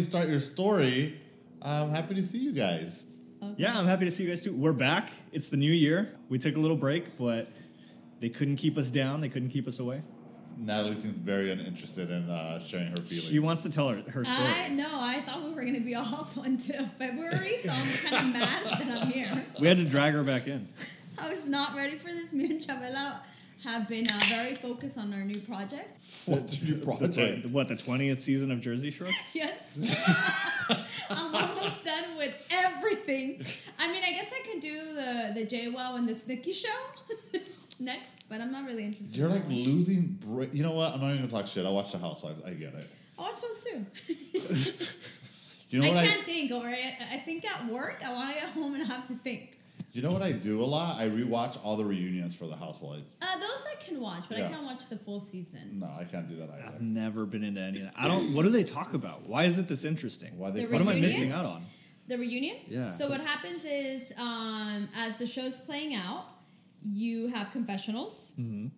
start your story, I'm happy to see you guys. Okay. Yeah, I'm happy to see you guys too. We're back. It's the new year. We took a little break, but they couldn't keep us down. They couldn't keep us away. Natalie seems very uninterested in sharing her feelings. She wants to tell her story. I thought we were going to be off until February, so I'm kind of mad that I'm here. We had to drag her back in. I was not ready for this. Me and Chabela have been very focused on our new project. What's your project? The 20th season of Jersey Shore? Yes. I'm almost done with everything. I mean, I guess I could do the JWoww and the Snooki show next, but I'm not really interested. You're like losing. You know what? I'm not even gonna talk shit. I watch The Housewives. I get it. I watch those too. You know I what can't think, or I think at work, I want to get home and have to think. You know what I do a lot? I rewatch all the reunions for The Housewives. Those I can watch, but Yeah. I can't watch the full season. No, I can't do that either. I've never been into any of that. What do they talk about? Why is it this interesting? Why they? The What am I reunion? missing out on? The reunion? Yeah. So what happens is, as the show's playing out, you have confessionals,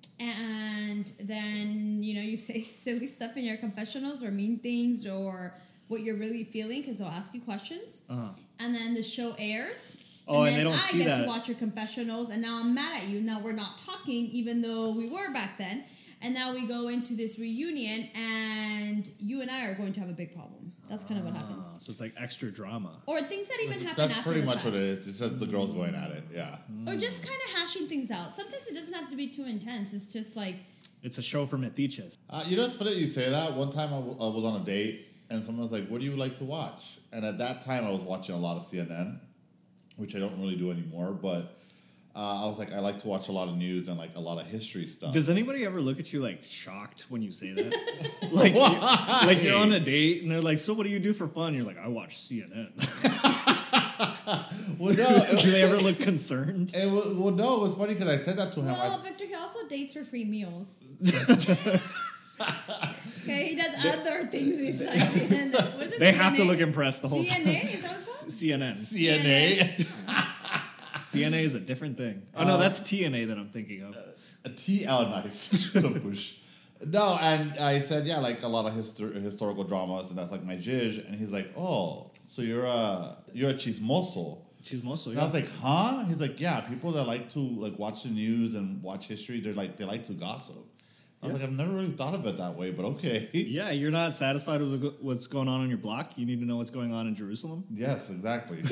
and then, you say silly stuff in your confessionals or mean things or what you're really feeling because they'll ask you questions. And then the show airs. Oh, and then they don't see I get that. to watch your confessionals, and now I'm mad at you. Now we're not talking, even though we were back then. And now we go into this reunion, and you and I are going to have a big problem. That's kind of what happens. So it's like extra drama. Or things that even happen That's after pretty the much fact. what it is. It's just the girls going at it. Yeah. Or just kind of hashing things out. Sometimes it doesn't have to be too intense. It's just like, It's a show for metiches. You know, it's funny that you say that. One time I was on a date, and someone was like, "What do you like to watch?" And at that time, I was watching a lot of CNN, which I don't really do anymore. But I was like, I like to watch a lot of news and like a lot of history stuff. Does anybody ever look at you like shocked when you say that? like you're on a date and they're like, "So what do you do for fun?" You're like, "I watch CNN." Well, no. Do they ever look concerned? No. It was funny because I said that to him. well, Victor, he also dates for free meals. Okay, he does other things besides CNN. What is it, They CNA? have to look impressed the whole time. CNA? Is that what it's called? CNN. CNA. CNA is a different thing. Oh no, that's TNA that I'm thinking of. Nice. Bush. No, and I said, yeah, like a lot of historical dramas, and that's like my zhizh. And he's like, oh, so you're a chismoso. Chismoso, And I was like, huh? He's like, yeah, people that like to like watch the news and watch history, they like to gossip. I was like, I've never really thought of it that way, but okay. Yeah, you're not satisfied with what's going on your block. You need to know what's going on in Jerusalem. Yes, exactly.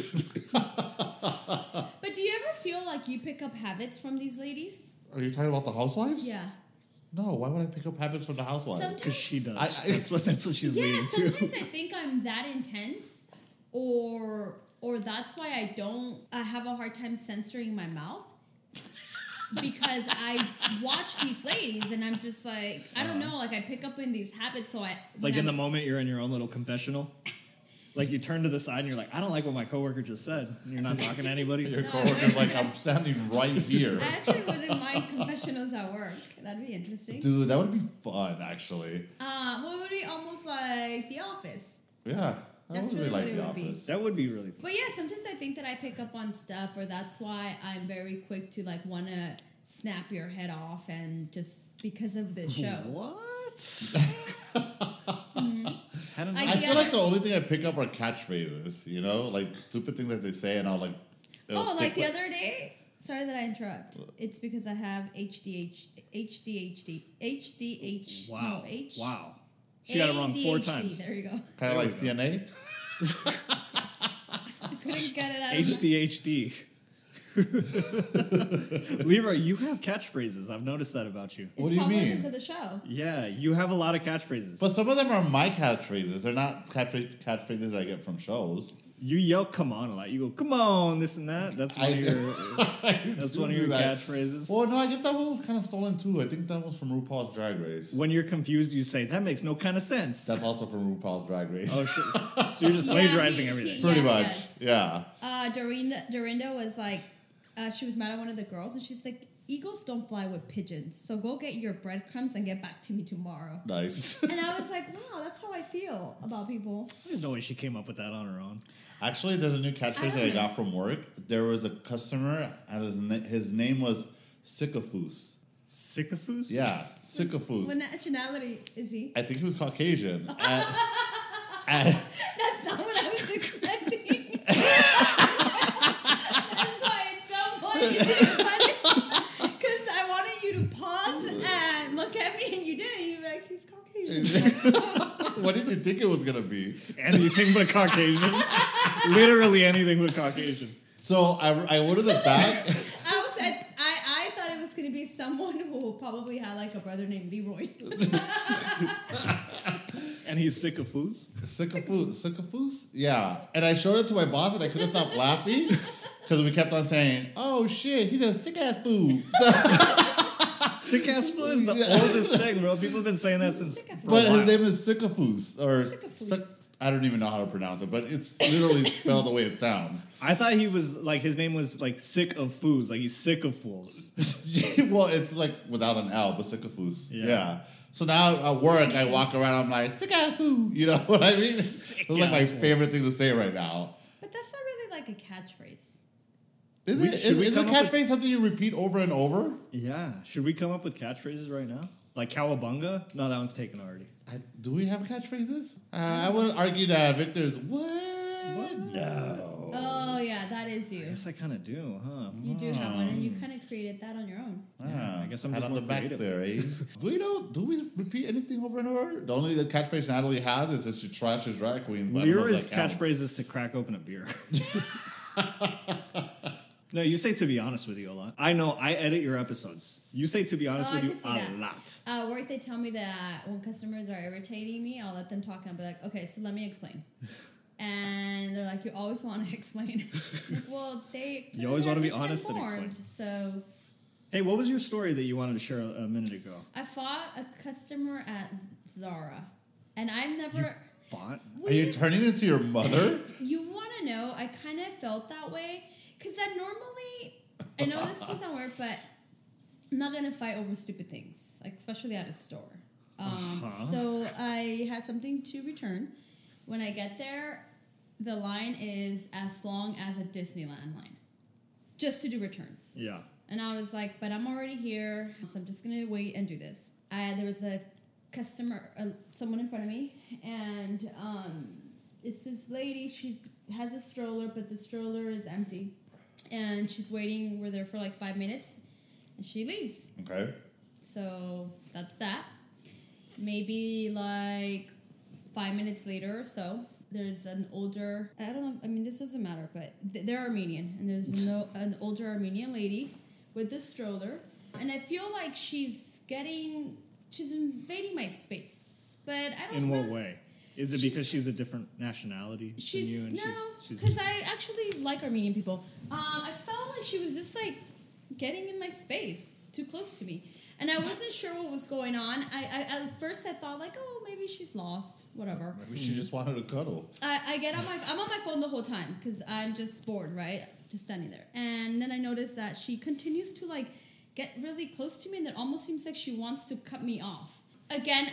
But do you ever feel like you pick up habits from these ladies? Are you talking about the housewives? Yeah. No, why would I pick up habits from the housewives? Because she does. I- That's what she's Yeah, leading to. sometimes I think I'm that intense, or that's why I have a hard time censoring my mouth. Because I watch these ladies and I'm just like, I don't know, like I pick up in these habits. So Like in the moment you're in your own little confessional. Like you turn to the side and you're like, I don't like what my coworker just said. And you're not talking to anybody. Your coworker's like, I'm standing right here. I actually wouldn't mind confessionals at work. That'd be interesting. Dude, that would be fun, actually. Well, it would be almost like The Office. Yeah. That's would really like what it The would be. Office. That would be really fun. But yeah, sometimes I think that I pick up on stuff, or that's why I'm very quick to like want to snap your head off, and just because of this show. What? I don't know. I I feel get like it. the only thing I pick up are catchphrases, you know? Like stupid things that they say, and I'll like. it'll Oh, stick like the with- other day? Sorry that I interrupt. It's because I have HDHD. Wow. No, H. Wow. She got it wrong 4 ADHD. times. There you go. Kind of like CNA. I couldn't get it out of HDHD. Leroy, you have catchphrases. I've noticed that about you. What do you probably mean? because of the show. Yeah, you have a lot of catchphrases. But some of them are my catchphrases. They're not catchphrases I get from shows. You yell "come on" a lot. You go "come on" this and that. That's one of your. That's do one of do your that. catchphrases. Well, no, I guess that one was kind of stolen too. I think that was from RuPaul's Drag Race. When you're confused, you say that makes no kind of sense. That's also from RuPaul's Drag Race. Oh shit! So you're just plagiarizing everything. Pretty Yeah, much, yes. yeah. Dorinda was like, she was mad at one of the girls, and she's like, eagles don't fly with pigeons, so go get your breadcrumbs and get back to me tomorrow. Nice. And I was like, wow, that's how I feel about people. There's no way she came up with that on her own. Actually, there's a new catchphrase that I got from work. There was a customer, and his name was Sycophus. Sycophus? Yeah, Sycophus. What nationality is he? I think he was Caucasian. And That's like, he's Caucasian. What did you think it was gonna be? Anything but Caucasian. Literally anything but Caucasian. So I went to the back. I thought it was going to be someone who probably had like a brother named Leroy. And he's sick of foos? Sick of foos? Yeah. And I showed it to my boss and I couldn't stop laughing because we kept on saying, oh shit, he's a sick ass foo. Sick ass foo is the oldest thing, bro. People have been saying that since. But his name is Sycophus. Or Sycophus. I don't even know how to pronounce it, but it's literally spelled the way it sounds. I thought he was like, his name was like sick of foos. Like he's sick of fools. Well, it's like without an L, but Sycophus. Yeah. Yeah. So now at work, I walk around, I'm like, sick ass foo. You know what I mean? It's like my favorite thing to say right now. But that's not really like a catchphrase. Is a catchphrase something you repeat over and over? Yeah. Should we come up with catchphrases right now? Like cowabunga? No, that one's taken already. Do we have catchphrases? I would argue that Victor's what? No. Oh yeah, that is I you. guess I kind of do, huh? You do have one, and you kind of created that on your own. Yeah, I guess I'm Pat just on the more back creative. there, eh? Do we repeat anything over and over? The only catchphrase Natalie has is that she trashes drag queens. but I don't know if Lyra's that counts. catchphrase is to crack open a beer. No, you say to be honest with you a lot. I know, I edit your episodes. You say to be honest Oh, with I you can see a that. lot. Work, they tell me that when customers are irritating me, I'll let them talk and I'll be like, okay, so let me explain. And they're like, you always want to explain. Like, well, You always want to be honest and misinformed, explain. So Hey, what was your story that you wanted to share a minute ago? I fought a customer at Zara, and I've never. Fought? Are you turning into your mother? You want to know? I kind of felt that way because I know this doesn't work, but I'm not gonna fight over stupid things, like especially at a store. So I had something to return. When I get there, the line is as long as a Disneyland line, just to do returns. Yeah. And I was like, but I'm already here, so I'm just gonna wait and do this. There was a customer, someone in front of me, and it's this lady. She has a stroller, but the stroller is empty, and she's waiting. We're there for like 5 minutes, and she leaves. Okay. So that's that. Maybe like 5 minutes later or so, there's an older. I don't know. I mean, this doesn't matter, but they're Armenian, and there's an older Armenian lady with the stroller, and I feel like she's invading my space, but I don't. In what really, way? Is it because she's a different nationality than you? And no, she's because I actually like Armenian people. I felt like she was just like getting in my space, too close to me, and I wasn't sure what was going on. I at first I thought like, oh, maybe she's lost, whatever. Maybe she just wanted to cuddle. I'm on my phone the whole time because I'm just bored, right? Just standing there, and then I noticed that she continues to like get really close to me, and it almost seems like she wants to cut me off. Again,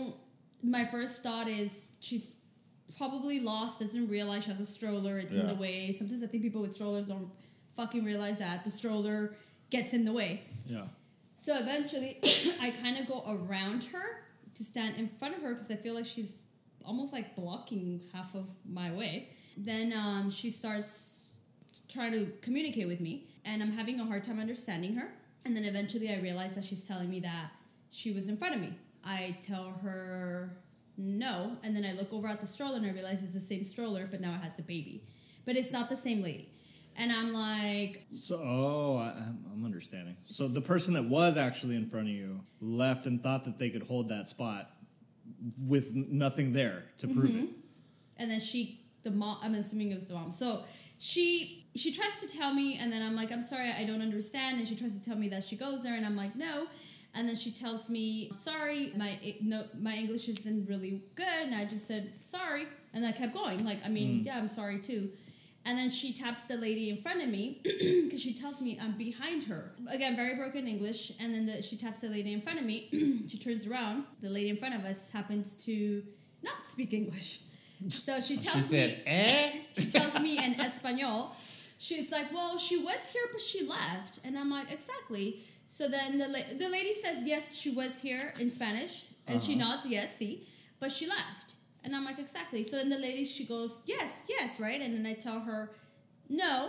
my first thought is she's probably lost, doesn't realize she has a stroller, it's in the way. Sometimes I think people with strollers don't fucking realize that the stroller gets in the way. Yeah. So eventually, I kind of go around her to stand in front of her because I feel like she's almost like blocking half of my way. Then she starts trying to communicate with me, and I'm having a hard time understanding her. And then eventually I realize that she's telling me that she was in front of me. I tell her no, and then I look over at the stroller and I realize it's the same stroller, but now it has a baby. But it's not the same lady. And I'm like... So, I'm understanding. So the person that was actually in front of you left and thought that they could hold that spot with nothing there to prove it. And then the mom, I'm assuming it was the mom. So she tries to tell me, and then I'm like, I'm sorry, I don't understand. And she tries to tell me that she goes there, and I'm like, no. And then she tells me, sorry, my English isn't really good. And I just said, sorry. And I kept going. Like, I mean, yeah, I'm sorry too. And then she taps the lady in front of me because she tells me I'm behind her. Again, very broken English. And then she taps the lady in front of me. She turns around. The lady in front of us happens to not speak English. So she tells me, she tells me in Espanol. She's like, well, she was here, but she left. And I'm like, exactly. So then the lady says, yes, she was here in Spanish. And she nods, yes, see. But she left. And I'm like, exactly. So then the lady, she goes, yes, right? And then I tell her, no,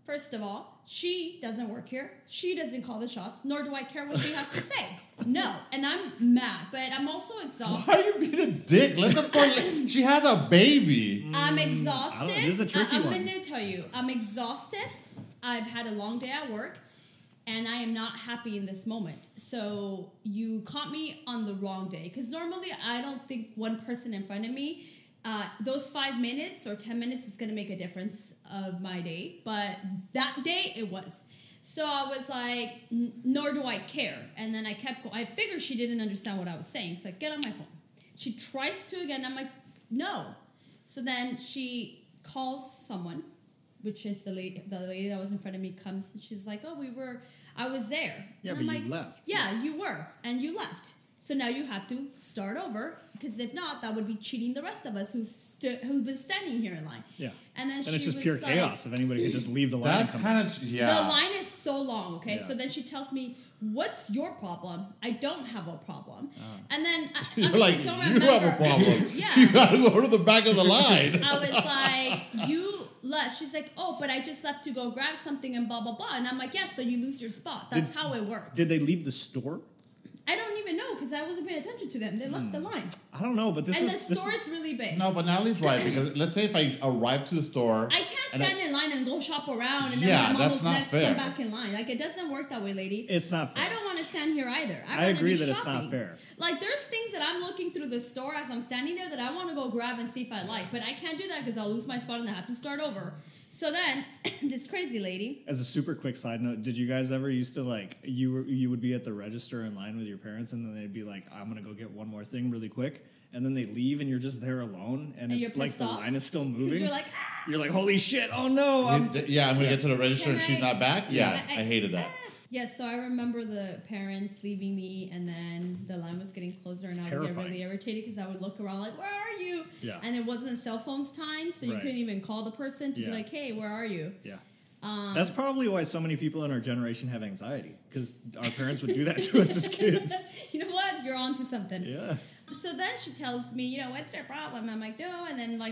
First of all, she doesn't work here. She doesn't call the shots, nor do I care what she has to say. No, and I'm mad, but I'm also exhausted. Why are you being a dick? Let the poor she has a baby. I'm exhausted. This is a tricky I'm one. going to tell you, I'm exhausted. I've had a long day at work, and I am not happy in this moment. So you caught me on the wrong day, because normally I don't think one person in front of me, those 5 minutes or 10 minutes is going to make a difference of my day. But that day, it was. So I was like, nor do I care. And then I kept going. I figured she didn't understand what I was saying. So I get on my phone. She tries to again. I'm like, no. So then she calls someone, which is the lady that was in front of me, comes and she's like, oh, I was there. Yeah, and but I'm you like, left. Yeah, you were. And you left. So now you have to start over, because if not, that would be cheating the rest of us who've been standing here in line. Yeah. And then And she it's just was pure like, chaos if anybody could just leave the line. That's kind of the line is so long, okay? Yeah. So then she tells me, what's your problem? I don't have a problem. And then You're I like, don't you have a remember. problem. Yeah. You gotta go to the back of the line. I was like, you left. She's like, oh, but I just left to go grab something and blah, blah, blah. And I'm like, yeah, so you lose your spot. That's how it works. Did they leave the store? I don't even know, because I wasn't paying attention to them. They left the line. I don't know, but this And is... the store is really big. No, but Natalie's right, because let's say if I arrive to the store. I can't and stand in line and go shop around and then Yeah, when I'm that's almost not next, fair. come back in line. Like, it doesn't work that way, lady. It's not fair. I don't want to stand here either. I rather agree be that it's not shopping. fair. Like, there's things that I'm looking through the store as I'm standing there that I want to go grab and see if I like. But I can't do that because I'll lose my spot and I have to start over. So then, this crazy lady. As a super quick side note, did you guys ever used to, like, you would be at the register in line with your parents, and then they'd be like, I'm going to go get one more thing really quick, and then they leave, and you're just there alone, and And it's you're like pissed the off? line is still Because moving. you're like, ah! You're like, holy shit, oh no. Yeah, I'm gonna get to the register and Can she's I- not back. Yeah, I hated that. Yes, so I remember the parents leaving me, and then the line was getting closer, and It's I would get terrifying. really irritated because I would look around like, where are you? Yeah. And it wasn't cell phones time, so you Right. couldn't even call the person to Yeah. be like, hey, where are you? Yeah. That's probably why so many people in our generation have anxiety, because our parents would do that to us as kids. You know what? You're onto something. Yeah. So then she tells me, you know, what's your problem? I'm like, no. And then like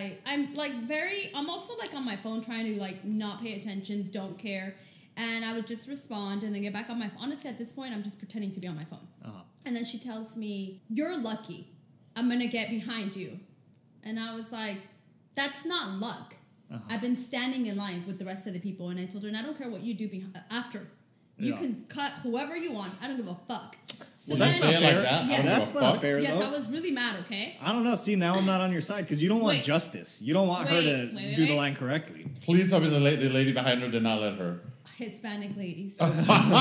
I'm also like on my phone trying to like not pay attention, don't care. And I would just respond and then get back on my phone. Honestly, at this point, I'm just pretending to be on my phone. Uh-huh. And then she tells me, you're lucky. I'm going to get behind you. And I was like, that's not luck. Uh-huh. I've been standing in line with the rest of the people. And I told her, and I don't care what you do after. You Yeah. can cut whoever you want. I don't give a fuck. So Well, that's then, say it like that. Yes. I don't That's give a not fuck. fair, yes, though. I was really mad, okay? I don't know. See, now I'm not on your side, because you don't want Wait. justice. You don't want her to Wait, do the wait. line correctly. Please tell me the lady behind her did not let her. Hispanic ladies. They were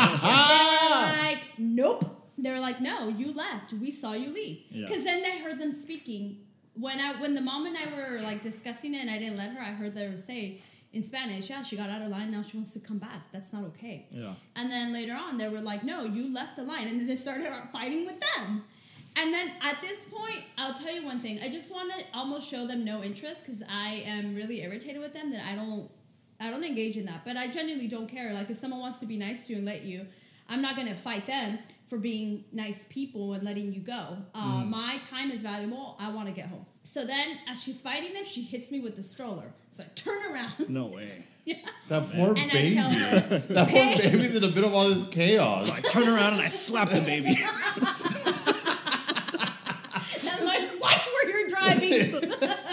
like, nope. They were like, no, you left. We saw you leave. Yeah. Because then I heard them speaking. When the mom and I were like discussing it and I didn't let her, I heard them say in Spanish, yeah, she got out of line, now she wants to come back. That's not okay. Yeah. And then later on, they were like, no, you left the line. And then they started fighting with them. And then at this point, I'll tell you one thing. I just want to almost show them no interest because I am really irritated with them that I don't engage in that. But I genuinely don't care. Like, if someone wants to be nice to you and let you, I'm not going to fight them for being nice people and letting you go. My time is valuable. I want to get home. So then, as she's fighting them, she hits me with the stroller. So I turn around. No way. Yeah. That poor And I baby. tell her, That poor baby's in the middle of all this chaos. So I turn around and I slap the baby. And I'm like, watch where you're driving.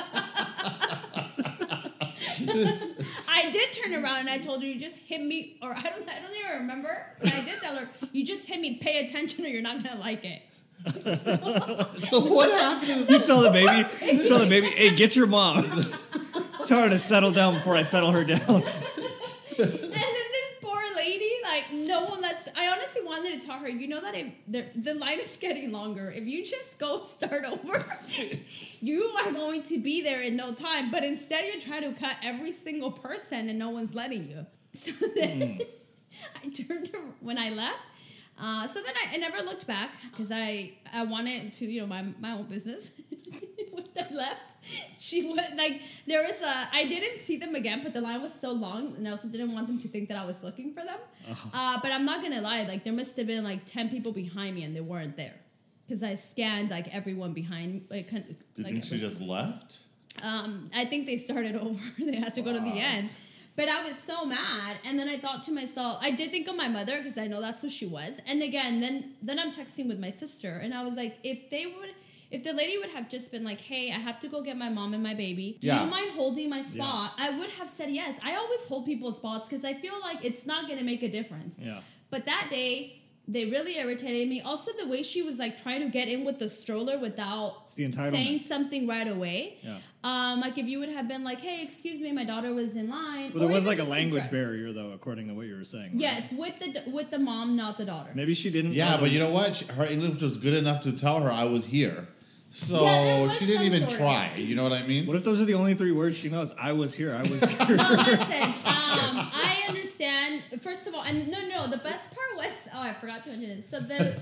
I did turn around and I told her, you just hit me, or I don't even remember. But I did tell her, you just hit me, pay attention or you're not going to like it. So what happened? You tell the baby, hey, get your mom. Tell her to settle down before I settle her down. And then this poor lady, like, no one lets, I honestly wanted to tell her, you know that the line is getting longer. If you just go start over, you are going to be there in no time. But instead, you're trying to cut every single person and no one's letting you. So then I turned to, when I left, so then I never looked back because I wanted to, you know, my own business. When I left, she was like, I didn't see them again, but the line was so long, and I also didn't want them to think that I was looking for them. But I'm not gonna lie, like there must have been like 10 people behind me, and they weren't there because I scanned like everyone behind. Like, Do you think she just left? I think they started over. They had to go to the end. But I was so mad, and then I thought to myself, I did think of my mother because I know that's who she was. And again, then I'm texting with my sister, and I was like, if the lady would have just been like, hey, I have to go get my mom and my baby. Do you mind holding my spot? I would have said yes. I always hold people's spots because I feel like it's not going to make a difference. Yeah. But that day, they really irritated me. Also, the way she was like trying to get in with the stroller without saying something right away. Yeah. Like if you would have been like, hey, excuse me, my daughter was in line. Well, there was like a language barrier, though, according to what you were saying. Right? Yes, with the mom, not the daughter. Maybe she didn't. Yeah, but you know what? Her English was good enough to tell her I was here. So she didn't even try. You know what I mean? What if those are the only 3 words she knows? I was here. I was here. No, listen. I understand. First of all, and no. The best part was I forgot to mention this. So the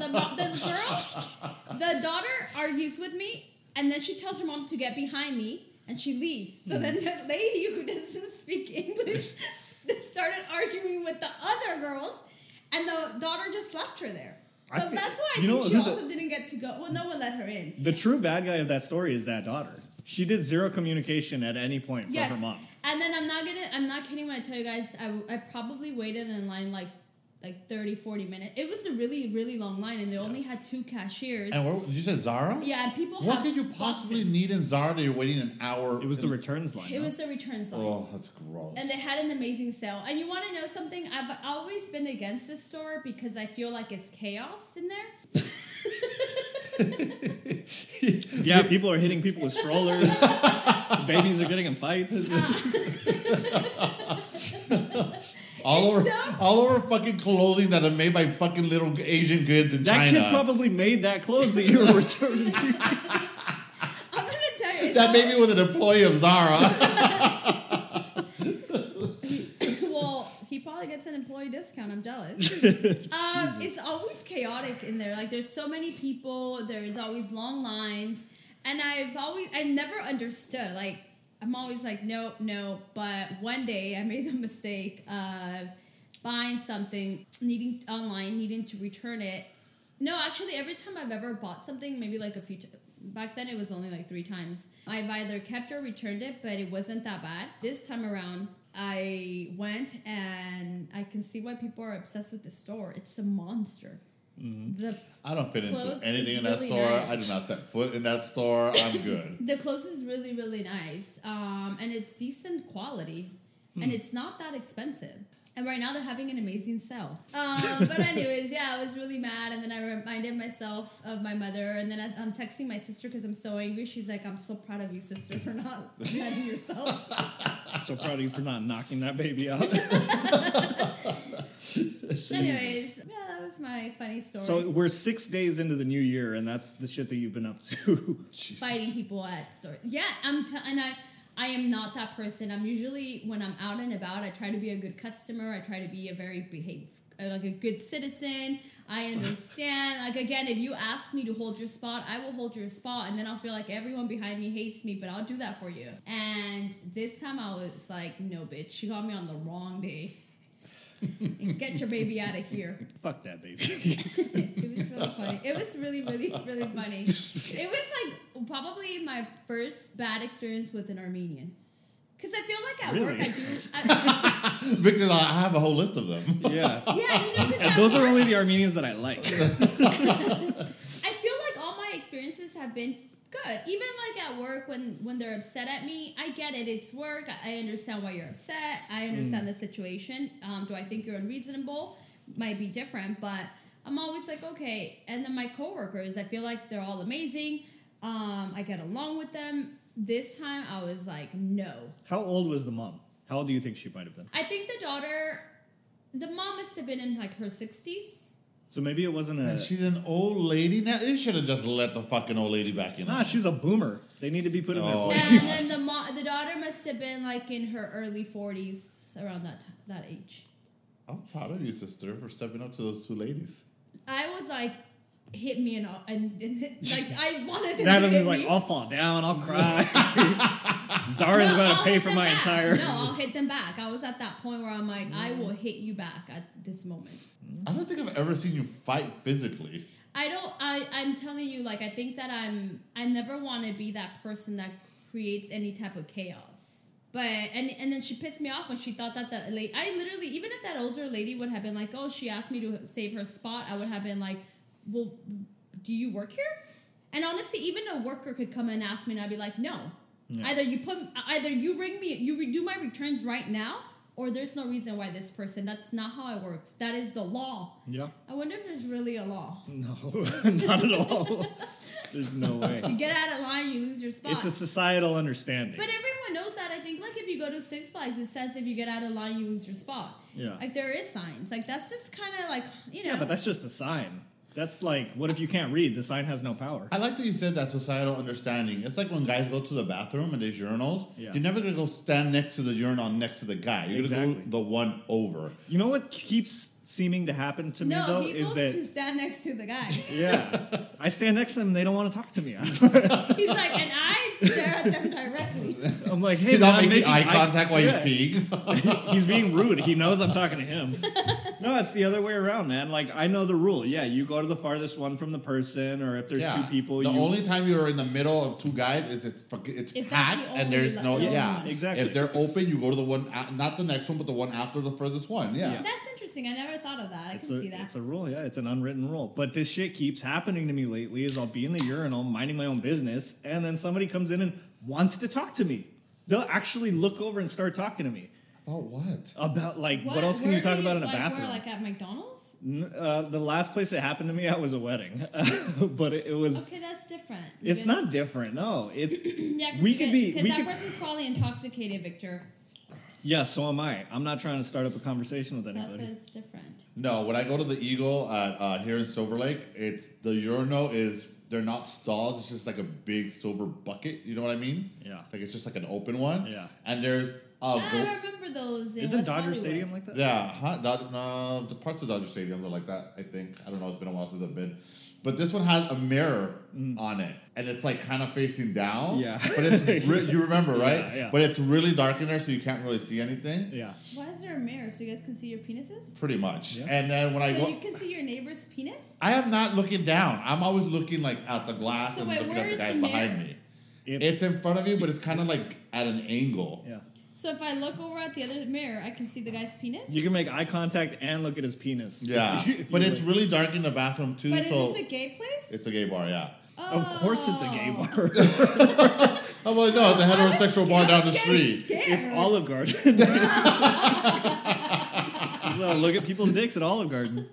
daughter argues with me, and then she tells her mom to get behind me, and she leaves. So then the lady who doesn't speak English started arguing with the other girls, and the daughter just left her there. So that's why I think she also didn't get to go. Well, no one let her in. The true bad guy of that story is that daughter. She did 0 communication at any point from her mom. And then I'm not kidding when I tell you guys, I probably waited in line like 30, 40 minutes. It was a really, really long line, and they only had 2 cashiers. And where, you said Zara? Yeah, and people What could you possibly need in Zara that you're waiting an hour? It was the returns line. It was the returns line. Oh, that's gross. And they had an amazing sale. And you want to know something? I've always been against this store because I feel like it's chaos in there. Yeah, people are hitting people with strollers. Babies are getting in fights. All over fucking clothing that are made by fucking little Asian goods in China. That kid probably made that clothes that you were returning. I'm gonna tell you. That baby was an employee of Zara. Well, he probably gets an employee discount. I'm jealous. It's always chaotic in there. Like there's so many people. There's always long lines, and I never understood. Like I'm always like no. But one day I made the mistake of buying something, needing to return it. No, actually, every time I've ever bought something, maybe like a few back then it was only like 3 times. I've either kept or returned it, but it wasn't that bad. This time around, I went, and I can see why people are obsessed with the store. It's a monster. Mm-hmm. I don't fit into anything in that store. Nice. I do not set foot in that store. I'm good. The clothes is really, really nice. And it's decent quality. And it's not that expensive. And right now they're having an amazing sale. But anyways, yeah, I was really mad. And then I reminded myself of my mother. And then I'm texting my sister because I'm so angry. She's like, I'm so proud of you, sister, for not letting yourself. So proud of you for not knocking that baby out. Anyways, yeah, that was my funny story. So we're 6 days into the new year, and that's the shit that you've been up to. Fighting people at stores. Yeah, I am not that person. I'm usually, when I'm out and about, I try to be a good customer. I try to be like a good citizen. I understand. Like, again, if you ask me to hold your spot, I will hold your spot. And then I'll feel like everyone behind me hates me, but I'll do that for you. And this time I was like, no, bitch. She got me on the wrong day. And get your baby out of here. Fuck that baby. It was really funny. It was really, really, really funny. It was like probably my first bad experience with an Armenian. Because I feel like at work I do... Because I have a whole list of them. Yeah. Yeah, you know, and those are only the Armenians that I like. I feel like all my experiences have been good. Even like at work when they're upset at me, I get it. It's work. I understand why you're upset. I understand the situation. Do I think you're unreasonable? Might be different, but I'm always like, okay. And then my coworkers, I feel like they're all amazing. I get along with them. This time I was like, no. How old was the mom? How old do you think she might have been? I think the mom must have been in like her 60s. So maybe it wasn't a... She's an old lady now. You should have just let the fucking old lady back in. Nah, she's a boomer. They need to be put in their place. And then the daughter must have been like in her early 40s, around that age. I'm proud of you, sister, for stepping up to those 2 ladies. I was like, hit me and like I wanted to. That was like, I'll fall down, I'll cry. Zara's about to pay for my entire. No, I'll hit them back. I was at that point where I'm like, I will hit you back at this moment. I don't think I've ever seen you fight physically. I'm telling you, like, I think that I never want to be that person that creates any type of chaos. But and then she pissed me off when she thought that the lady. I literally, even if that older lady would have been like, "Oh, she asked me to save her spot," I would have been like, "Well, do you work here?" And honestly, even a worker could come and ask me, and I'd be like, "No." Yeah. Either you ring me, you redo my returns right now, or there's no reason why this person. That's not how it works. That is the law. Yeah. I wonder if there's really a law. No, not at all. There's no way. You get out of line, you lose your spot. It's a societal understanding. But everyone knows that. I think, like, if you go to Six Flags, it says if you get out of line, you lose your spot. Yeah. Like, there is signs. Like, that's just kind of like, you know. Yeah, but that's just a sign. That's like, what if you can't read? The sign has no power. I like that you said that societal understanding. It's like when guys go to the bathroom and there's urinals. Yeah. You're never gonna go stand next to the urinal next to the guy. You're gonna Exactly. go the one over. You know what keeps seeming to happen to me, no, though, he is goes that... to stand next to the guy. Yeah. I stand next to them and they don't want to talk to me. He's like, and I stare at them directly. I'm like, hey, He's man, not I'm making eye contact while Yeah. he's peeing. He's being rude. He knows I'm talking to him. No, it's the other way around, man. Like, I know the rule. Yeah, you go to the farthest one from the person, or if there's two people, The you... only time you're in the middle of two guys is it's If that's packed the and only there's no the only yeah. one. Exactly. If they're open, you go to the one not the next one, but the one after the furthest one. Yeah. Yeah. That's interesting. I never thought of that. I can see that. It's a rule, yeah. It's an unwritten rule. But this shit keeps happening to me lately is I'll be in the urinal minding my own business, and then somebody comes in and wants to talk to me. They'll actually look over and start talking to me. About what? About, like, what else can Where you talk do about in a like, bathroom? Where, like at McDonald's? The last place it happened to me at was a wedding. But it was... Okay, that's different. It's not different, no. It's... Yeah, we could be... Because we that could- person's probably intoxicated, Victor. Yeah, so am I. I'm not trying to start up a conversation with So that's anybody. it's different. No, when I go to the Eagle at here in Silver Lake, it's the urinal is they're not stalls. It's just like a big silver bucket. You know what I mean? Yeah. Like it's just like an open one. Yeah. And there's I remember those. In Isn't West Dodger Hollywood. Stadium like that? yeah, the parts of Dodger Stadium are like that. I think I don't know. It's been a while since I've been, but this one has a mirror on it, and it's like kind of facing down. Yeah. But it's you remember, right? Yeah, yeah. But it's really dark in there, so you can't really see anything. Yeah. Why is there a mirror so you guys can see your penises? Pretty much. Yeah. And then when I So go, you can see your neighbor's penis? I am not looking down. I'm always looking like out the glass So and wait, looking where at the is guys the behind mirror? me. It's It's... in front of you, but it's kind of like at an angle. Yeah. So if I look over at the other mirror, I can see the guy's penis? You can make eye contact and look at his penis. Yeah, If but you it's would. really dark in the bathroom too. But is so this a gay place? it's a gay bar, yeah. Of course it's a gay Oh. bar. I'm like, no, it's a heterosexual bar down the street. It's Olive Garden. So look at people's dicks at Olive Garden.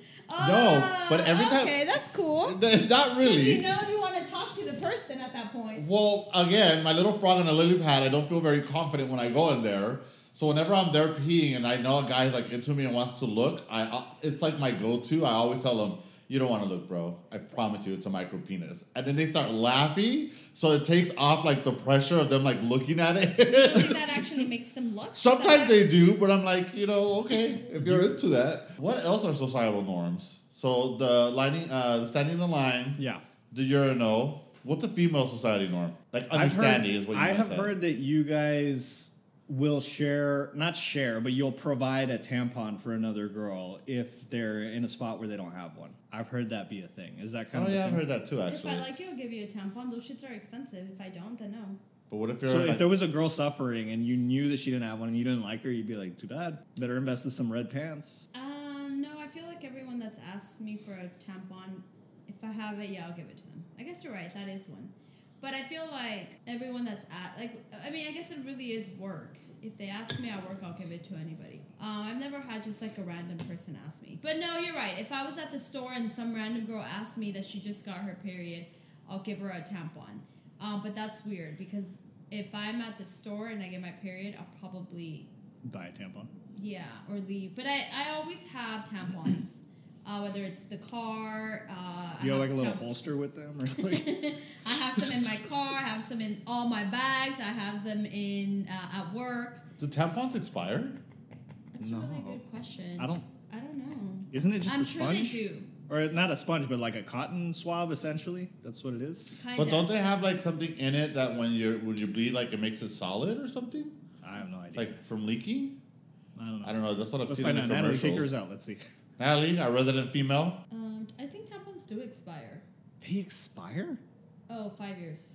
No, but every time- Okay, that's cool. Not Because really. you know you want to talk to the person at that point. Well, again, my little frog on a lily pad, I don't feel very confident when I go in there. So whenever I'm there peeing and I know a guy's like into me and wants to look, it's like my go-to. I always tell them, "You don't want to look, bro. I promise you, it's a micro penis." And then they start laughing, so it takes off like the pressure of them like looking at I think it. that actually makes them look. Sometimes they do, but I'm like, okay, if you're into that. What else are societal norms? So the lining, the standing in line, Yeah. the urinal. What's a female society norm? Like understanding is what you I might have say. heard that you guys will not share, but you'll provide a tampon for another girl if they're in a spot where they don't have one. I've heard that be a thing. Is that kind Oh of a yeah, I've thing? heard that too. If Actually, I like you, I'll give you a tampon. Those shits are expensive. If I don't, then no. but what if you're So like, if there was a girl suffering and you knew that she didn't have one and you didn't like her, you'd be like, too bad. Better invest in some red pants. No, I feel like everyone that's asked me for a tampon, if I have it, yeah, I'll give it to them. I guess you're right. That is one. But I feel like everyone that's I guess it really is work. If they ask me at work, I'll give it to anybody. I've never had just like a random person ask me. But no, you're right. If I was at the store and some random girl asked me that she just got her period, I'll give her a tampon. But that's weird because if I'm at the store and I get my period, I'll probably Buy a tampon. or leave. But I always have tampons. Whether it's the car, You have I like a little tamp- holster with them? Or like, I have some in my car. I have some in all my bags. I have them in at work. do tampons expire? That's a really good question. I don't know. Isn't it just I'm a sure sponge? they do. Or not a sponge, but like a cotton swab, essentially. That's what it is. Kinda. But don't they have like something in it that when you bleed, like it makes it solid or something, I have no idea. like from leaking? I don't know. I don't know. That's what I've Let's seen find in out. the Natalie, commercials. take hers out. Let's see. Natalie, our resident female. I think tampons do expire. They expire? Oh, 5 years.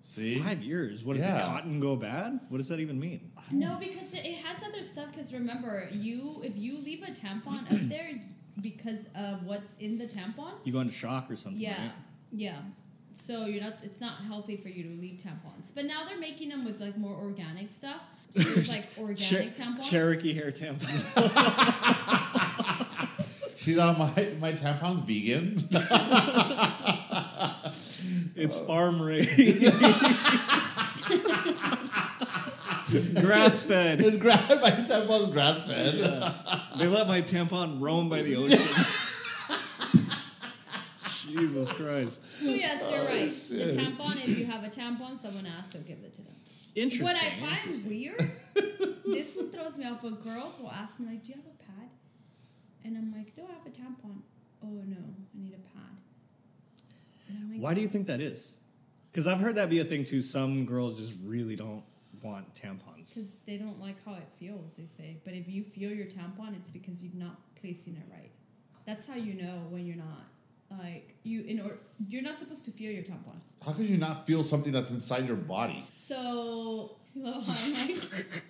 See? 5 years. What does Yeah. the cotton go bad? What does that even mean? No, because it has other stuff. Because remember, if you leave a tampon up there because of what's in the tampon, You go into shock or something, yeah, right? yeah. So it's not healthy for you to leave tampons. But now they're making them with like more organic stuff. So there's like organic tampons. Cherokee hair tampon. She's on my tampon's vegan. It's farm raised. Grass fed. My tampon's grass fed. They let my tampon roam by the ocean. Jesus Christ. Oh yes, you're right. The shit. tampon. If you have a tampon, someone asks, so give it to them. Interesting. What I find weird, this one throws me off when girls will ask me like, "Do you have a pad?" And I'm like, "No, I have a tampon." "Oh no, I need a pad." And I'm like, Why do you think that is? Because I've heard that be a thing too. Some girls just really don't want tampons. Because they don't like how it feels, they say. But if you feel your tampon, it's because you're not placing it right. That's how you know when you're not. Like, you're not supposed to feel your tampon. How could you not feel something that's inside your body? So, you know how I'm like,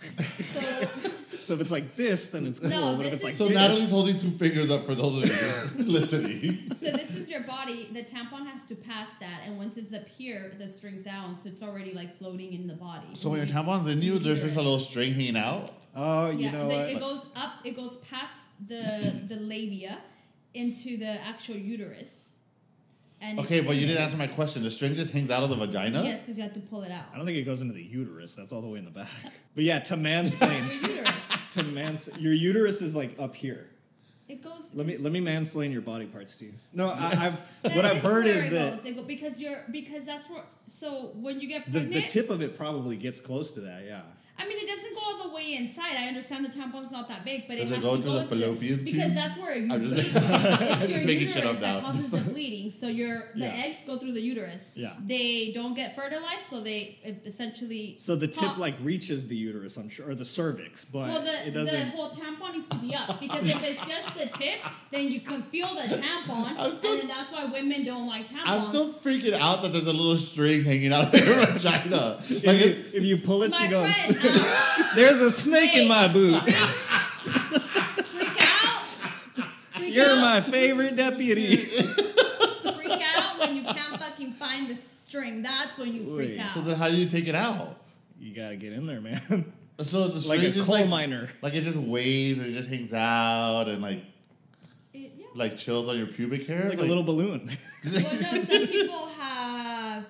So if it's like this, then it's cool. No, but if this it's like is- So this, Natalie's holding 2 fingers up for those of you listening. so this is your body. The tampon has to pass that. And once it's up here, the string's out. So it's already like floating in the body. So when your tampon's in you, there's just a little string hanging out. oh, you Yeah, know what? it goes up. It goes past the labia into the actual uterus. And Okay, it's but you in didn't there. answer my question. The string just hangs out of the vagina? Yes, because you have to pull it out. I don't think it goes into the uterus. That's all the way in the back. But yeah, to mansplain. Your uterus. Your uterus is like up here. It goes. Let me mansplain your body parts to you. No, I've That what I've heard where is it that goes. because that's where. So when you get the pregnant, tip of it probably gets close to that. Yeah. I mean, it doesn't go all the way inside. I understand the tampon's not that big, but Does it it has go to through go the fallopian tube? because that's where you I'm bleed. just- It's your making shit uterus up that now. causes the bleeding. So the Yeah. eggs go through the uterus. Yeah. They don't get fertilized, so they essentially. So the tip pop- like reaches the uterus, I'm sure, or the cervix, but Well, it the doesn't. whole tampon needs to be up because if it's just the tip, then you can feel the tampon, I'm still- and then that's why women don't like tampons. I'm still freaking out that there's a little string hanging out of your vagina. Like If you pull it, My she goes. friend, There's a snake in my boot. freak out. Freak You're out. my favorite deputy. Freak out when you can't fucking find the string. That's when you freak Wait. out. So then how do you take it out? You gotta get in there, man. So the string Like a just coal miner. Like it just waves and it just hangs out and Yeah. like chills on your pubic hair? Like a little balloon. Well, no, some people have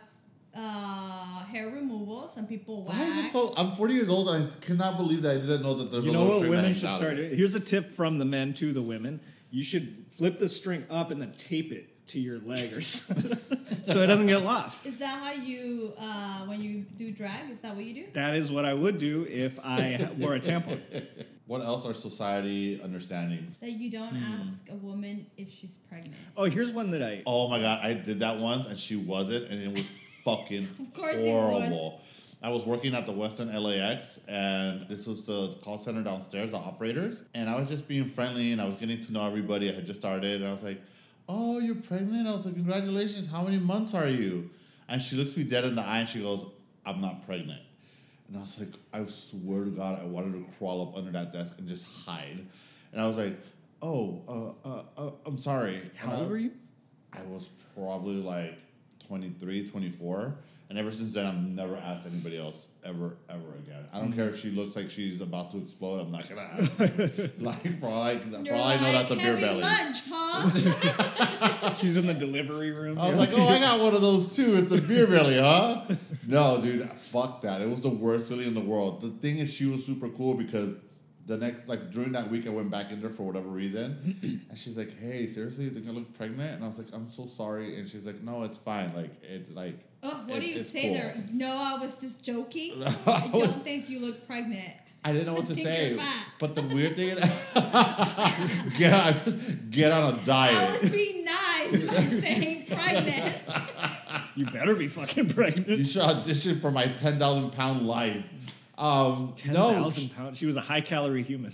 hair removal. Some people wax. Why is it so? I'm 40 years old and I cannot believe that I didn't know that there's You a know little what string that women hangs should out start of it. doing? Here's a tip from the men to the women. You should flip the string up and then tape it to your leg or something so it doesn't get lost. Is that how you, when you do drag, is that what you do? That is what I would do if I wore a tampon. What else are society understandings? That you don't Hmm. ask a woman if she's pregnant. Oh, here's one that I. Oh my god, I did that once and she wasn't, and it was fucking Of course you would. horrible. I was working at the Westin LAX, and this was the call center downstairs, the operators, and I was just being friendly, and I was getting to know everybody. I had just started, and I was like, "Oh, you're pregnant?" I was like, "Congratulations! How many months are you?" And she looks me dead in the eye, and she goes, "I'm not pregnant." And I was like, I swear to God, I wanted to crawl up under that desk and just hide. And I was like, I'm sorry. How And old were you? I was probably like 23, 24. And ever since then, I've never asked anybody else ever again. I don't care if she looks like she's about to explode. I'm not gonna ask. Like for all I know, that's a beer heavy belly. lunch, huh? She's in the delivery room. I was like, oh, I got one of those too. It's a beer belly, huh? No, dude, fuck that. It was the worst feeling in the world. The thing is, she was super cool because the next, like during that week, I went back in there for whatever reason, and she's like, "Hey, seriously, you think I look pregnant?" And I was like, "I'm so sorry," and she's like, "No, it's fine. Oh, what do you it's say cool." there? No, I was just joking. I don't think you look pregnant. I didn't know what to Take say. your back. But the weird thing, get on a I diet. was being nice by saying pregnant. You better be fucking pregnant. You should audition for my 10,000-pound life. No, 10,000 pounds. She was a high calorie human.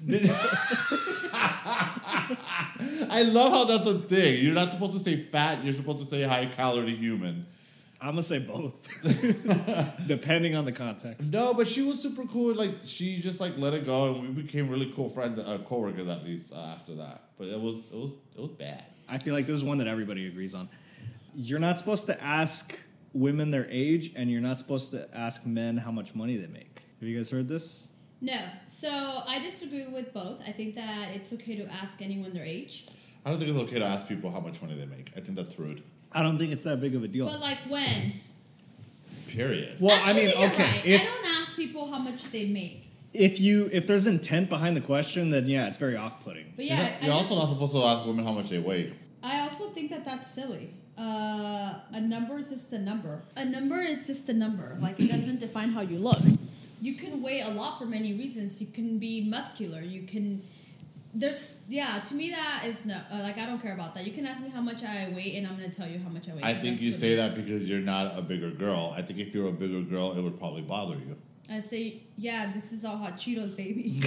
I love how that's a thing. You're not supposed to say fat. You're supposed to say high calorie human. I'm gonna say both, depending on the context. No, but she was super cool. Like she just like let it go, and we became really cool friends, coworkers at least after that. But it was bad. I feel like this is one that everybody agrees on. You're not supposed to ask women their age, and you're not supposed to ask men how much money they make. Have you guys heard this? No. So I disagree with both. I think that it's okay to ask anyone their age. I don't think it's okay to ask people how much money they make. I think that's rude. I don't think it's that big of a deal. But like when? Period. Well, Actually, I mean, you're okay, right. I it's don't ask people how much they make. if there's intent behind the question, then yeah, it's very off-putting. But You're, yeah, not, you're also not supposed to ask women how much they weigh. I also think that that's silly. A number is just a number. A number is just a number. Like, it doesn't define how you look. You can weigh a lot for many reasons. You can be muscular. You can... to me that is no... I don't care about that. You can ask me how much I weigh, and I'm going to tell you how much I weigh. I think you say that because you're not a bigger girl. I think if you're a bigger girl, it would probably bother you. I say, yeah, this is all hot Cheetos, baby.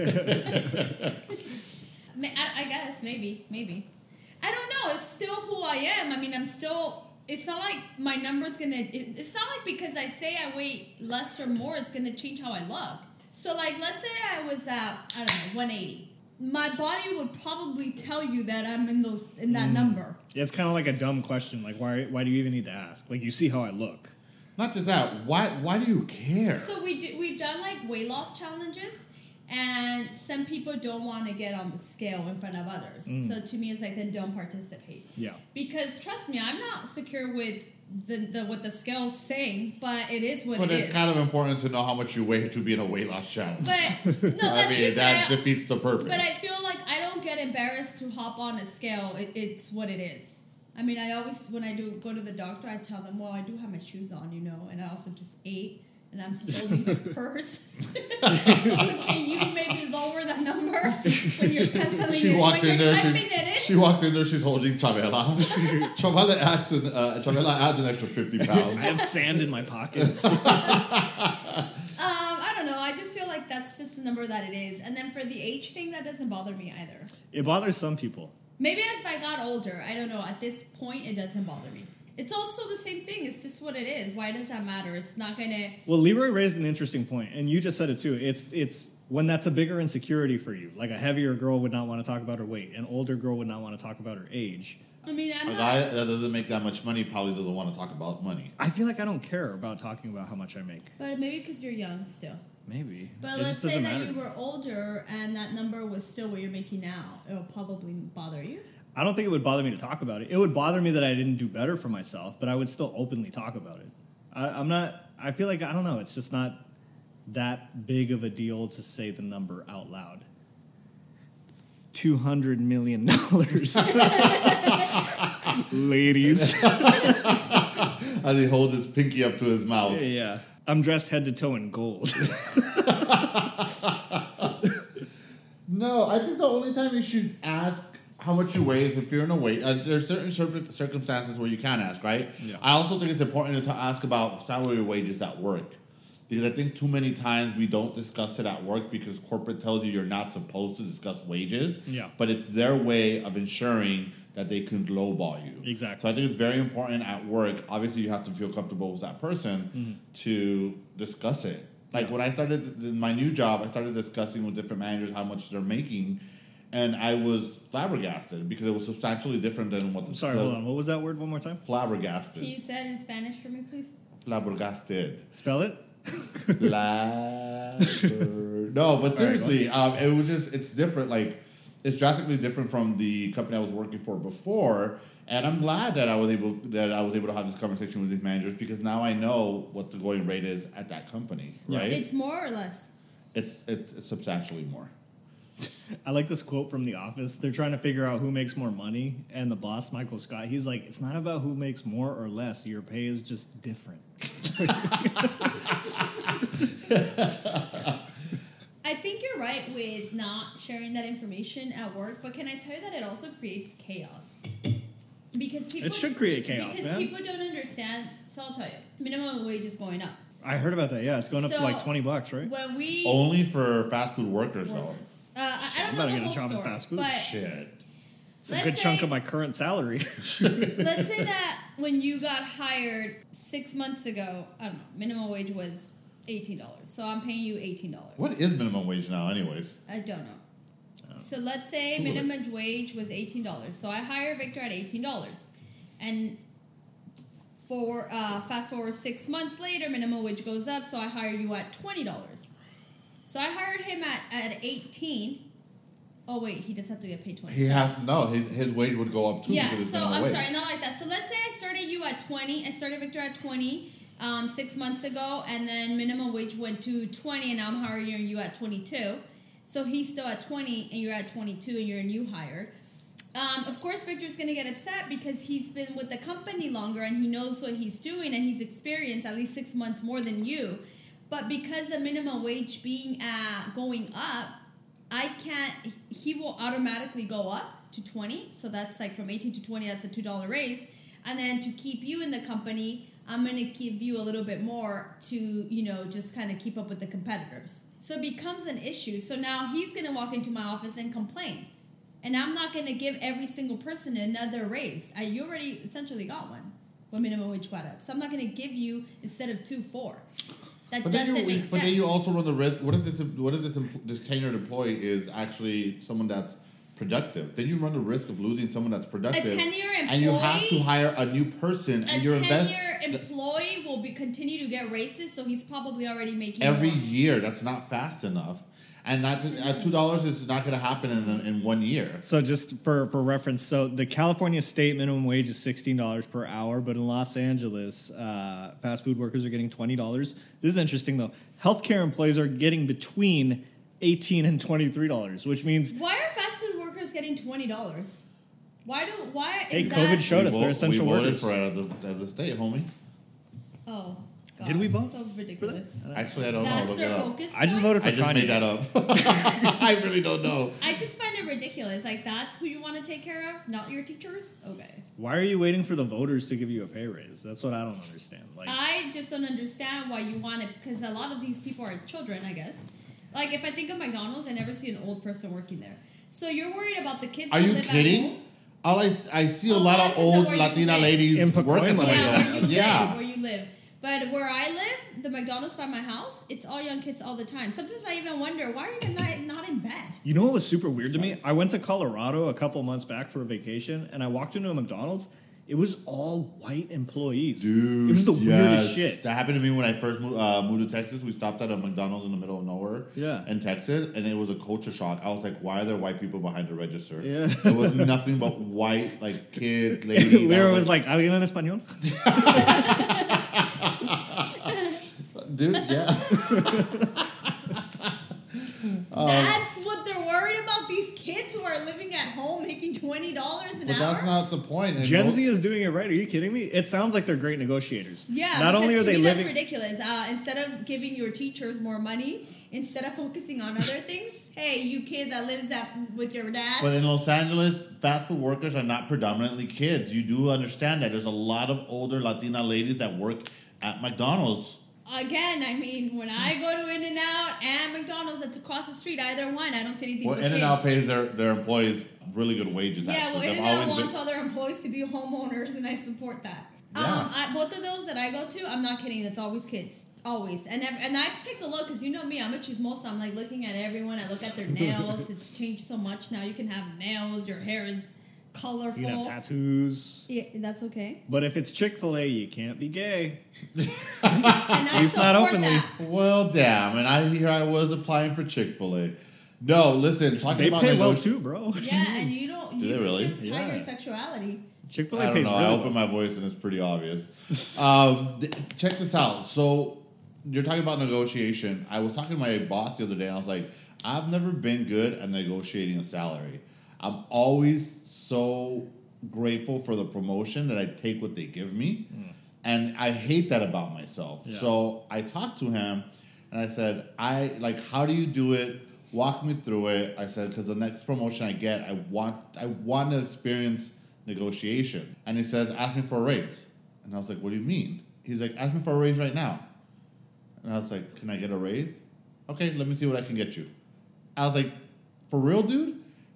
I guess, maybe. I don't know. It's still who I am. I mean, I'm still... It's not like my number's going to... It's not like because I say I weigh less or more, it's going to change how I look. So, like, let's say I was at, I don't know, 180. My body would probably tell you that I'm in that number. Yeah, it's kind of like a dumb question. Like, why do you even need to ask? Like, you see how I look. Not just that. Why do you care? So we've done, like, weight loss challenges, and some people don't want to get on the scale in front of others. So to me, it's like, then don't participate. Yeah. Because trust me, I'm not secure with what the scale's saying, but it is what But it is. it's kind of important to know how much you weigh to be in a weight loss challenge. But no, I mean, that defeats the purpose. But I feel like I don't get embarrassed to hop on a scale. It's what it is. I mean, I always, when I do go to the doctor, I tell them, well, I do have my shoes on, and I also just ate, and I'm holding my purse. So can you maybe lower that number when you're penciling She it? walks when in you're there. typing it in? She walks in there. She's holding Chavela. Chavela adds an extra 50 I pounds. have sand in my pockets. I don't know. I just feel like that's just the number that it is. And then for the age thing, that doesn't bother me either. It bothers some people. Maybe as I got older, I don't know. At this point, it doesn't bother me. It's also the same thing. It's just what it is. Why does that matter? It's not gonna. Well, Leroy raised an interesting point, and you just said it too. It's when that's a bigger insecurity for you. Like a heavier girl would not want to talk about her weight. An older girl would not want to talk about her age. I mean, A guy that doesn't make that much money probably doesn't want to talk about money. I feel like I don't care about talking about how much I make. But maybe because you're young still. Maybe. But It let's just say doesn't that matter. you were older and that number was still what you're making now. It'll probably bother you. I don't think it would bother me to talk about it. It would bother me that I didn't do better for myself, but I would still openly talk about it. I'm not. I feel like I don't know. It's just not that big of a deal to say the number out loud. $200 million, ladies. As he holds his pinky up to his mouth. Yeah, I'm dressed head to toe in gold. No, I think the only time you should ask how much you weigh is if you're in a weight. There's certain circumstances where you can ask, right? Yeah. I also think it's important to ask about salary or wages at work. Because I think too many times we don't discuss it at work because corporate tells you you're not supposed to discuss wages. Yeah. But it's their way of ensuring that they can lowball you. Exactly. So I think it's very important at work. Obviously, you have to feel comfortable with that person to discuss it. Like when I started in my new job, I started discussing with different managers how much they're making. And I was flabbergasted because it was substantially different than what the... I'm sorry, hold on. What was that word one more time? Flabbergasted. Can you say it in Spanish for me, please? Flabbergasted. Spell it. No, but seriously, it was just, it's different. Like, it's drastically different from the company I was working for before. And I'm glad that I was able to have this conversation with these managers because now I know what the going rate is at that company, right? It's more or less? It's substantially more. I like this quote from The Office. They're trying to figure out who makes more money, and the boss, Michael Scott, he's like, it's not about who makes more or less. Your pay is just different. I think you're right with not sharing that information at work, but can I tell you that it also creates chaos? Because people... It should create chaos, because man. people don't understand. So I'll tell you. Minimum wage is going up. I heard about that. Yeah, it's going up to So, like $20, right? When we... Only for fast food workers, though. Workers. I don't I'm know not the gonna whole shop at story, fast food. but Shit. It's a good chunk of my current salary. Let's say that when you got hired 6 months ago, I don't know, minimum wage was $18. So I'm paying you $18. What is minimum wage now, anyways? I don't know. So let's say minimum wage was $18. So I hire Victor at $18. And for fast forward 6 months later, minimum wage goes up, so I hire you at $20. So I hired him at 18. Oh wait, he just have to get paid 20. His wage would go up too. Yeah, because it's so minimum I'm wage. sorry, not like that. So let's say I started you at 20. I started Victor at 20 6 months ago, and then minimum wage went to 20, and now I'm hiring you at 22. So he's still at 20, and you're at 22, and you're a new hire. Of course, Victor's going to get upset because he's been with the company longer, and he knows what he's doing, and he's experienced at least 6 months more than you. But because the minimum wage being going up, he will automatically go up to 20. So that's like from 18 to 20, that's a $2 raise. And then to keep you in the company, I'm going to give you a little bit more to, just kind of keep up with the competitors. So it becomes an issue. So now he's going to walk into my office and complain. And I'm not going to give every single person another raise. You already essentially got one when minimum wage got up. So I'm not going to give you, instead of 2, 4. That doesn't make sense. But then you also run the risk. What if this tenured employee is actually someone that's productive? Then you run the risk of losing someone that's productive. A 10-year employee, and you have to hire a new person. And you're a 10-year employee will continue to get raises, so he's probably already making every more. year. That's not fast enough. And not just, at $2 is not going to happen in 1 year. So just for reference, so the California state minimum wage is $16 per hour, but in Los Angeles, fast food workers are getting $20. This is interesting, though. Healthcare employees are getting between $18 and $23, which means... Why are fast food workers getting $20? Hey, COVID showed us they're essential workers. We voted for it as a state, homie. Oh, God. Did we vote? So ridiculous. Actually, I don't know. That's Look their it up. focus I just point? voted for I just Kanye. made that up. I really don't know. I just find it ridiculous. Like, that's who you want to take care of, not your teachers? Okay. Why are you waiting for the voters to give you a pay raise? That's what I don't understand. Like, I just don't understand why you want it, because a lot of these people are children, I guess. Like, if I think of McDonald's, I never see an old person working there. So you're worried about the kids Are that you live kidding? at home? I see a lot of old Latina ladies In working Pacoima. like Yeah, that. where you live. But where I live, the McDonald's by my house, it's all young kids all the time. Sometimes I even wonder, why are you not in bed? you know what was super weird to me? I went to Colorado a couple months back for a vacation, and I walked into a McDonald's. It was all white employees. Dude, it was the weirdest shit. That happened to me when I first moved to Texas. We stopped at a McDonald's in the middle of nowhere in Texas, and it was a culture shock. I was like, why are there white people behind the register? Yeah. It was nothing but white, like, kids, ladies. Lyra was like, ¿Alguien en español? Dude, yeah. That's what they're worried about, these kids who are living at home making $20 an But hour? that's not the point. And Gen Z is doing it right. Are you kidding me? It sounds like they're great negotiators. Yeah, Not only are to they me, living... that's ridiculous. Instead of giving your teachers more money, instead of focusing on other things, hey, you kid that lives with your dad. But in Los Angeles, fast food workers are not predominantly kids. You do understand that. There's a lot of older Latina ladies that work at McDonald's. Again, I mean, when I go to In-N-Out and McDonald's, that's across the street, either one, I don't see anything Well, but In-N-Out kids. pays their employees really good wages, Yeah, actually. well, They've In-N-Out always wants been- all their employees to be homeowners, and I support that. Yeah. Both of those that I go to, I'm not kidding, it's always kids. Always. And I take a look, because you know me, I'm a chismosa. I'm like looking at everyone. I look at their nails. It's changed so much now. You can have nails. Your hair is colorful. You can have tattoos. Yeah, that's okay. But if it's Chick-fil-A, you can't be gay. And I least not support openly. that. Well, damn. And here I was applying for Chick-fil-A. No, listen, talking They about pay well too, bro. Yeah, and you don't. Do You they can really? just hide Yeah. your sexuality. Chick-fil-A I don't pays know. really I well. opened my voice and it's pretty obvious. Check this out. So you're talking about negotiation. I was talking to my boss the other day, and I was like, I've never been good at negotiating a salary. I'm always so grateful for the promotion that I take what they give me, and I hate that about myself. Yeah. So I talked to him, and I said, how do you do it? Walk me through it. I said, because the next promotion I get, I want to experience negotiation. And he says, ask me for a raise. And I was like, what do you mean? He's like, ask me for a raise right now. And I was like, can I get a raise? Okay, let me see what I can get you. I was like, for real, dude?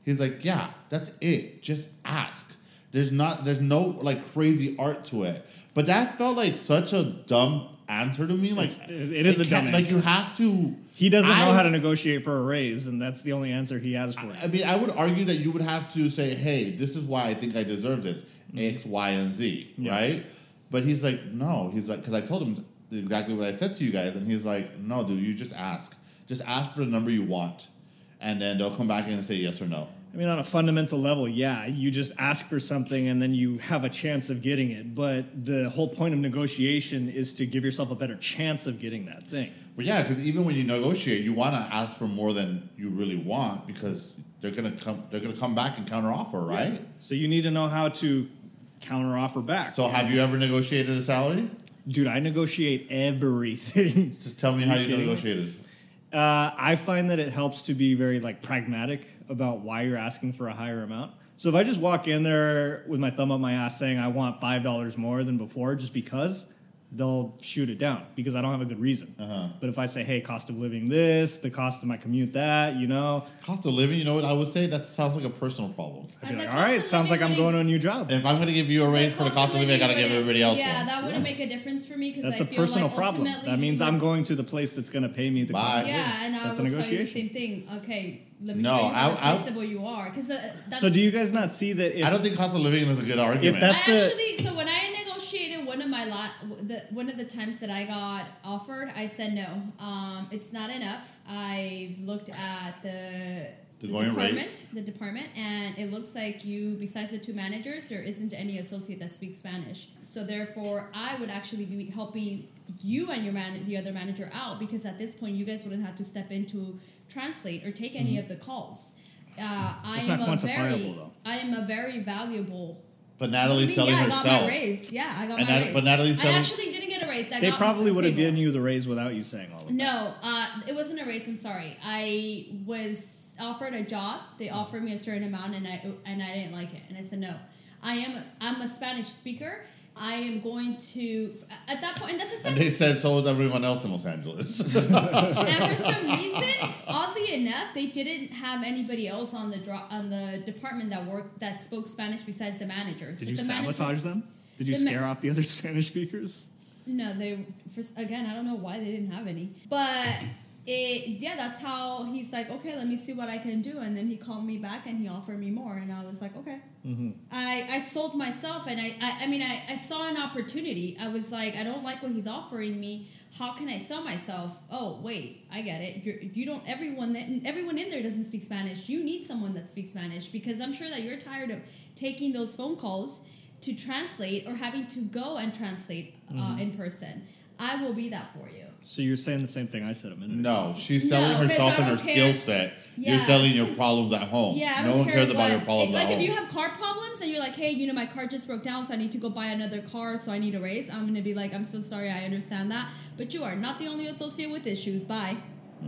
He's like, yeah, that's it. Just ask. There's no like crazy art to it. But that felt like such a dumb answer to me. Like it is a dumb answer. Like you have to. He doesn't know how to negotiate for a raise, and that's the only answer he has for it. I mean, I would argue that you would have to say, hey, this is why I think I deserve this. X, Y, and Z, right? But he's like, no. He's like, because I told him exactly what I said to you guys, and he's like, no, dude, you just ask. Just ask for the number you want, and then they'll come back and say yes or no. I mean, on a fundamental level, yeah, you just ask for something and then you have a chance of getting it. But the whole point of negotiation is to give yourself a better chance of getting that thing. But yeah, because even when you negotiate, you want to ask for more than you really want because they're gonna come back and counteroffer, right? Yeah. So you need to know how to counteroffer back. So have you ever negotiated a salary? Dude, I negotiate everything. Just tell me how you negotiated. I find that it helps to be very like pragmatic about why you're asking for a higher amount. So if I just walk in there with my thumb up my ass saying I want $5 more than before just because, they'll shoot it down because I don't have a good reason. But if I say, hey, cost of living this, the cost of my commute that, you know. Cost of living, you know what I would say? That sounds like a personal problem. I'd be like, all right, sounds like I'm going to a new job. If I'm going to give you a raise for the cost of living, I got to give everybody else Yeah, one. that wouldn't make a difference for me because That's I a feel personal like problem. ultimately That means I'm going to the place that's going to pay me the cost of living. Yeah, and I That's a will tell you the negotiation. same thing. Okay, let me No, show you how I- replaceable you are. Because that's So do you guys not see that if I don't think cost of living is a good argument. that's so when I negotiated one of the times that I got offered, I said no. It's not enough. I've looked at the going rate. the department, and it looks like you, besides the two managers, there isn't any associate that speaks Spanish. So therefore, I would actually be helping you and the other manager out because at this point, you guys wouldn't have to step in to translate or take any of the calls. I It's not quantifiable, though. I am a very valuable. But Natalie's selling I herself. got my raise. Yeah, I got my raise. But Natalie's selling. I actually didn't get a raise. they probably would have given you the raise without you saying all of that. No, it wasn't a raise. I'm sorry. I was offered a job. They offered me a certain amount, and I didn't like it, and I said no. I'm a Spanish speaker. I am going to at that point, and that's exactly. And they said so was everyone else in Los Angeles. And for some reason, oddly enough, they didn't have anybody else on the department that spoke Spanish besides the managers. Did you sabotage them? Did you scare off the other Spanish speakers? No, again, I don't know why they didn't have any. But that's how he's like, okay, let me see what I can do. And then he called me back and he offered me more. And I was like, okay. Mm-hmm. I sold myself, and I saw an opportunity. I was like, I don't like what he's offering me. How can I sell myself? Oh, wait, I get it. You don't. Everyone in there doesn't speak Spanish. You need someone that speaks Spanish because I'm sure that you're tired of taking those phone calls to translate or having to go and translate in person. I will be that for you. So you're saying the same thing I said a minute ago. No, she's selling herself and her skill set. Yeah, you're selling your problems at home. Yeah, no one cares about your problems like at home. if you have car problems and you're like, hey, my car just broke down, so I need to go buy another car, so I need a raise. I'm gonna be like, I'm so sorry, I understand that, but you are not the only associate with issues. Bye.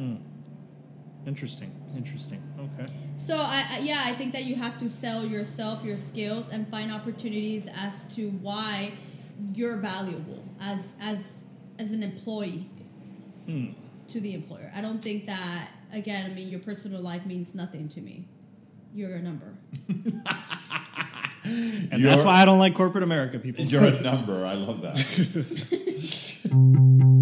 Interesting. Okay. So I think that you have to sell yourself, your skills, and find opportunities as to why you're valuable as an employee to the employer. I don't think that, again, your personal life means nothing to me. You're a number. And that's why I don't like corporate America, people. You're a number. I love that.